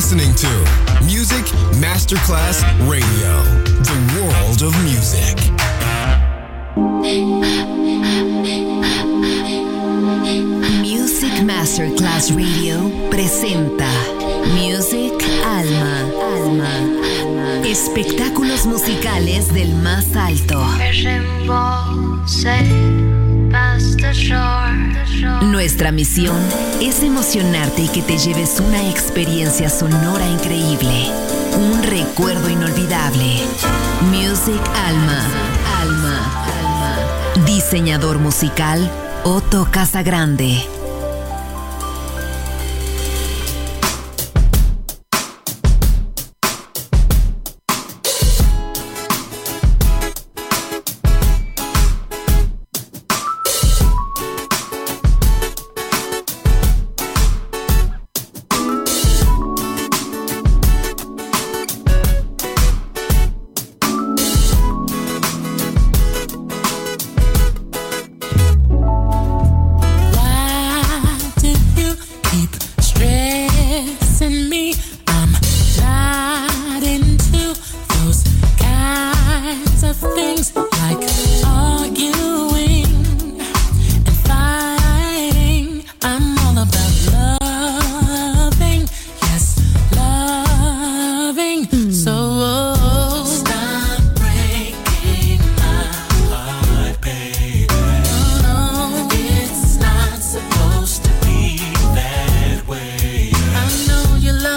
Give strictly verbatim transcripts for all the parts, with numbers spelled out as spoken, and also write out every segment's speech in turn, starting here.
listening to Music Masterclass Radio, the world of music. Music Masterclass Radio presenta Music Alma, Alma, espectáculos musicales del más alto. Nuestra misión es emocionarte y que te lleves una experiencia sonora increíble, un recuerdo inolvidable. Music Alma, Alma, Alma. Diseñador musical Otto Casagrande. You love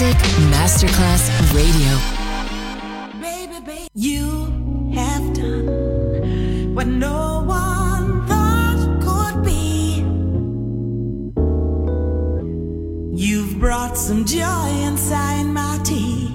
Music Masterclass Radio. Baby, baby, you have done what no one thought could be. You've brought some joy inside my tears.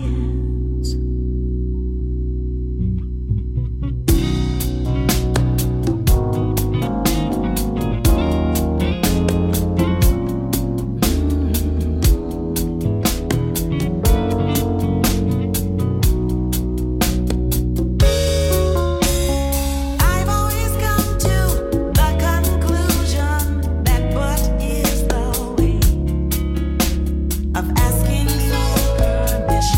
Asking for permission.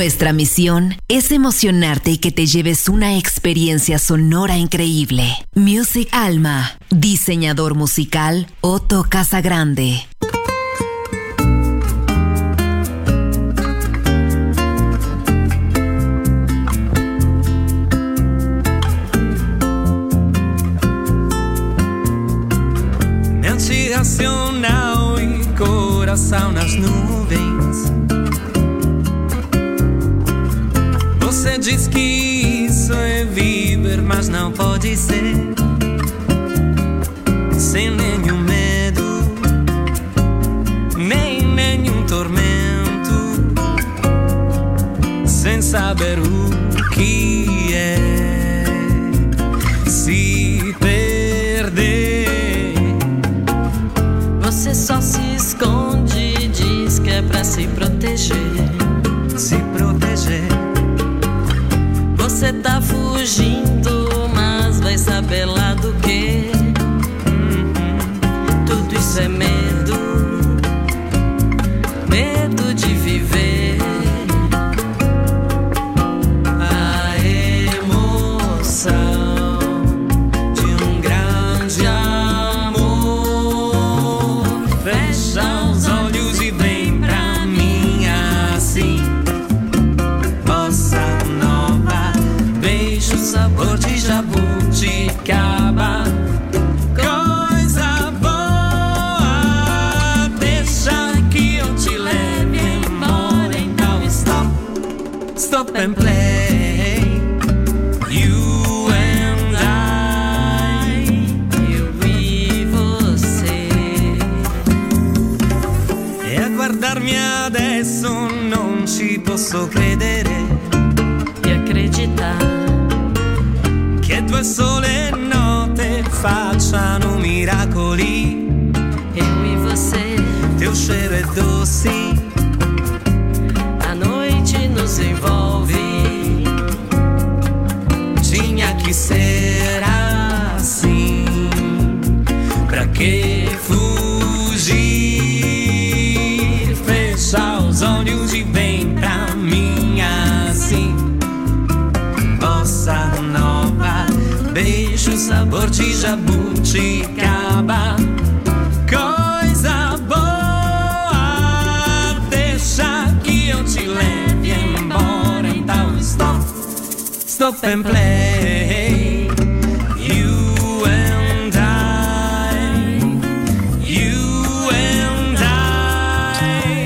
Nuestra misión es emocionarte y que te lleves una experiencia sonora increíble. Music Alma, diseñador musical Otto Casagrande. Mente racional e coração nas nuvens. Você diz que isso é viver, mas não pode ser. Sem nenhum medo, nem nenhum tormento. Sem saber o que é se perder. Você só se esconde e diz que é pra se proteger. Se proteger. Você tá fugindo, mas vai saber lá do que. Uhum. Tudo isso é medo, medo de viver. A emoção de um grande amor. Fecha os olhos e vem pra mim assim. Bossa nova, beijo, sabor de jabuticaba. Coisa boa, deixa que eu te leve embora. Então stop, stop and play. You and I, eu e você. E a guardarmi adesso non ci posso credere. E acreditar Che due sole note facciano miracoli. eu e você. Teu cheiro é doce, A noite nos envolve. tinha que ser assim. Pra que fugir? Fecha os olhos e vem pra mim assim. Bossa nova, beijo, sabor de jabuticaba. Coisa boa, deixa que eu te leve embora. Então stop, stop and play. You and I, you and I.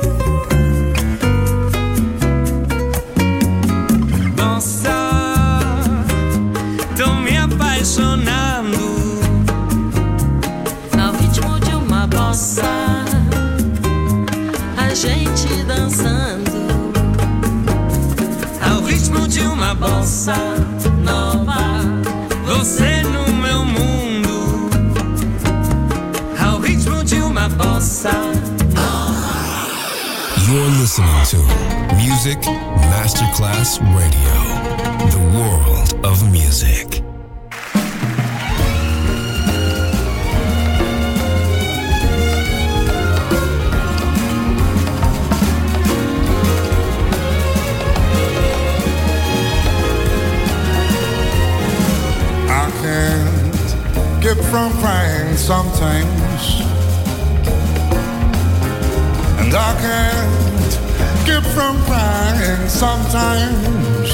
Bossa, tô me apaixonando. Ao ritmo de uma bossa, a gente dançando. Ao ritmo de uma bossa nova, você no meu mundo. Ao ritmo de uma bossa nova. You're listening to Music Masterclass Radio, the world of music. I can't get from crying sometimes, and I can't get from crying sometimes.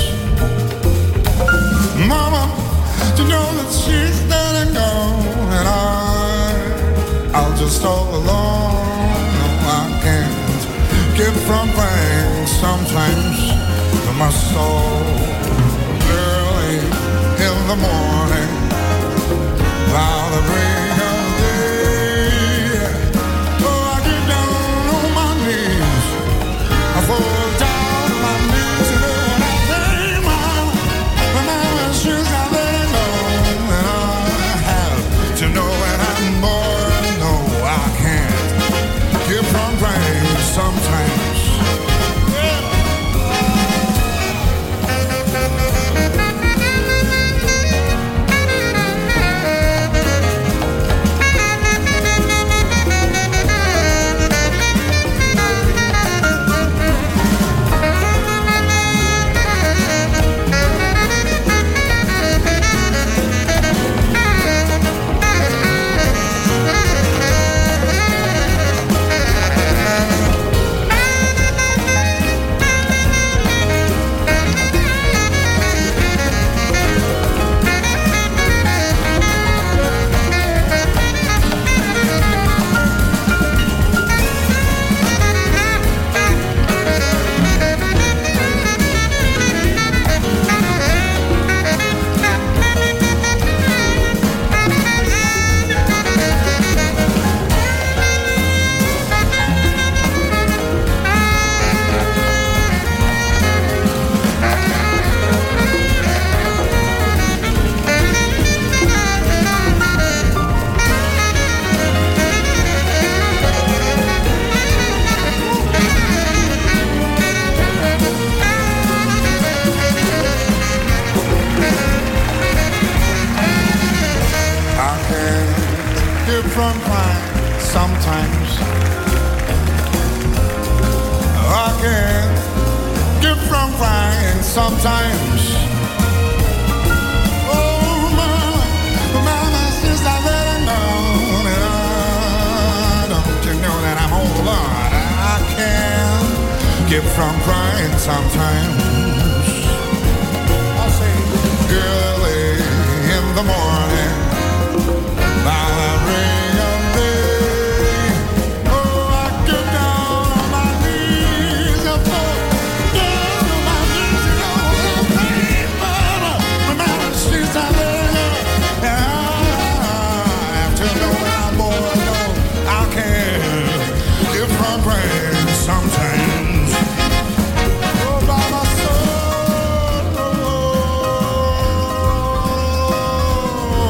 Mama, you know that she's letting go, and I, I'll just all alone. No, I can't get from crying sometimes. My soul, early in the morning, while the break of day. Oh, I get down on my knees, I fall down on my knees, you know what I say, Mama, but Mama, she's got letting go, and I have to know when I'm born. No, I can't get from crying sometimes. keep from crying sometimes. I can't keep from crying sometimes. Oh, mama, mama, since I let her know that I, don't you know that I'm old, Lord, I can't keep from crying sometimes. I say, early in the morning, by the break of day, oh, I get down on my knees and fall down on my knees, you know, I pray, mama, mama, she's a lady, and I have to know that I'm born, no, I can't keep from praying sometimes. Oh, by my soul, oh,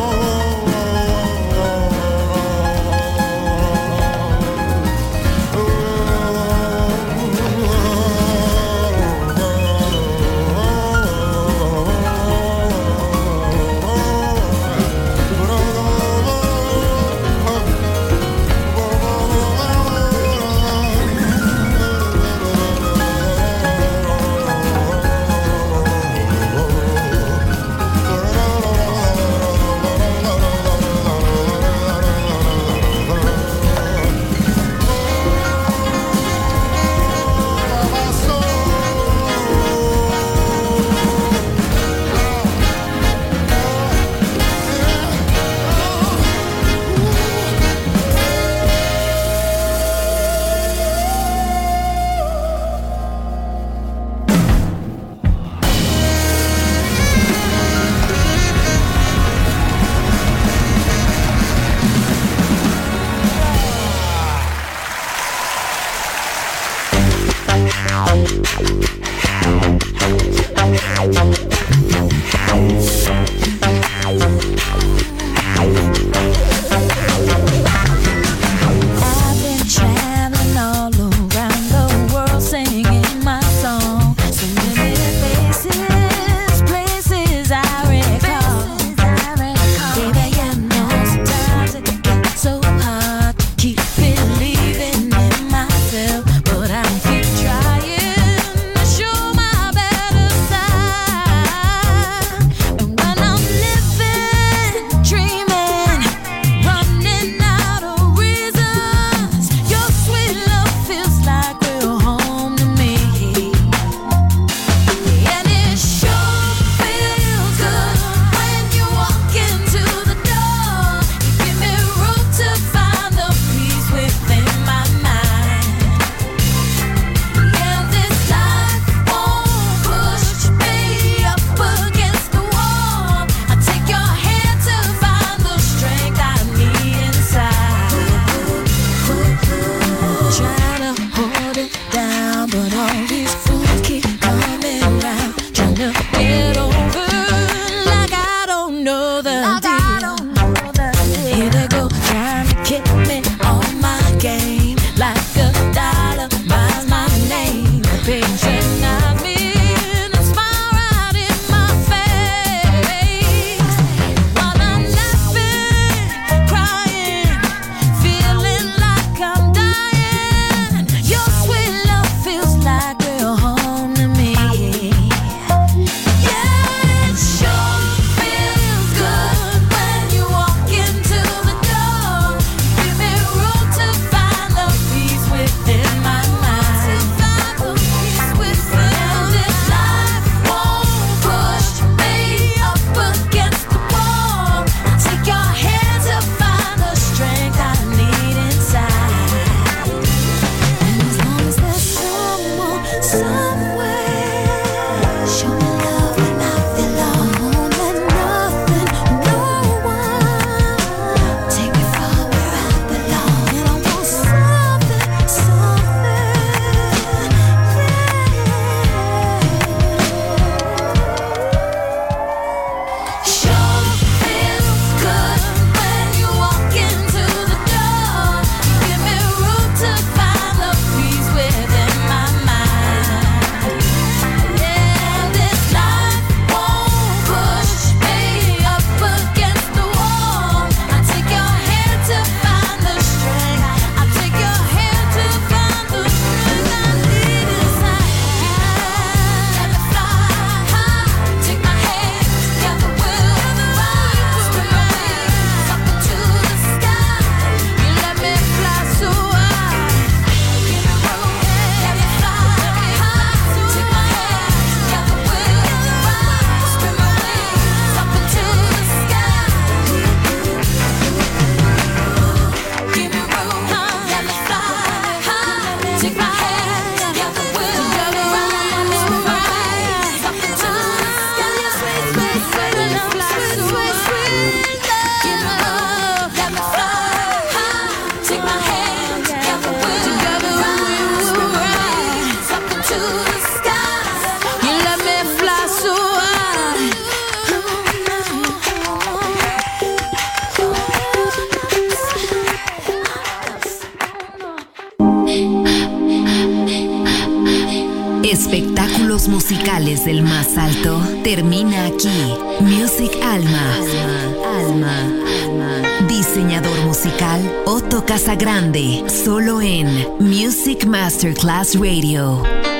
Sueños musicales del más alto termina aquí. Music Alma. Alma. Alma. Diseñador musical Otto Casagrande. Solo en Music Masterclass Radio.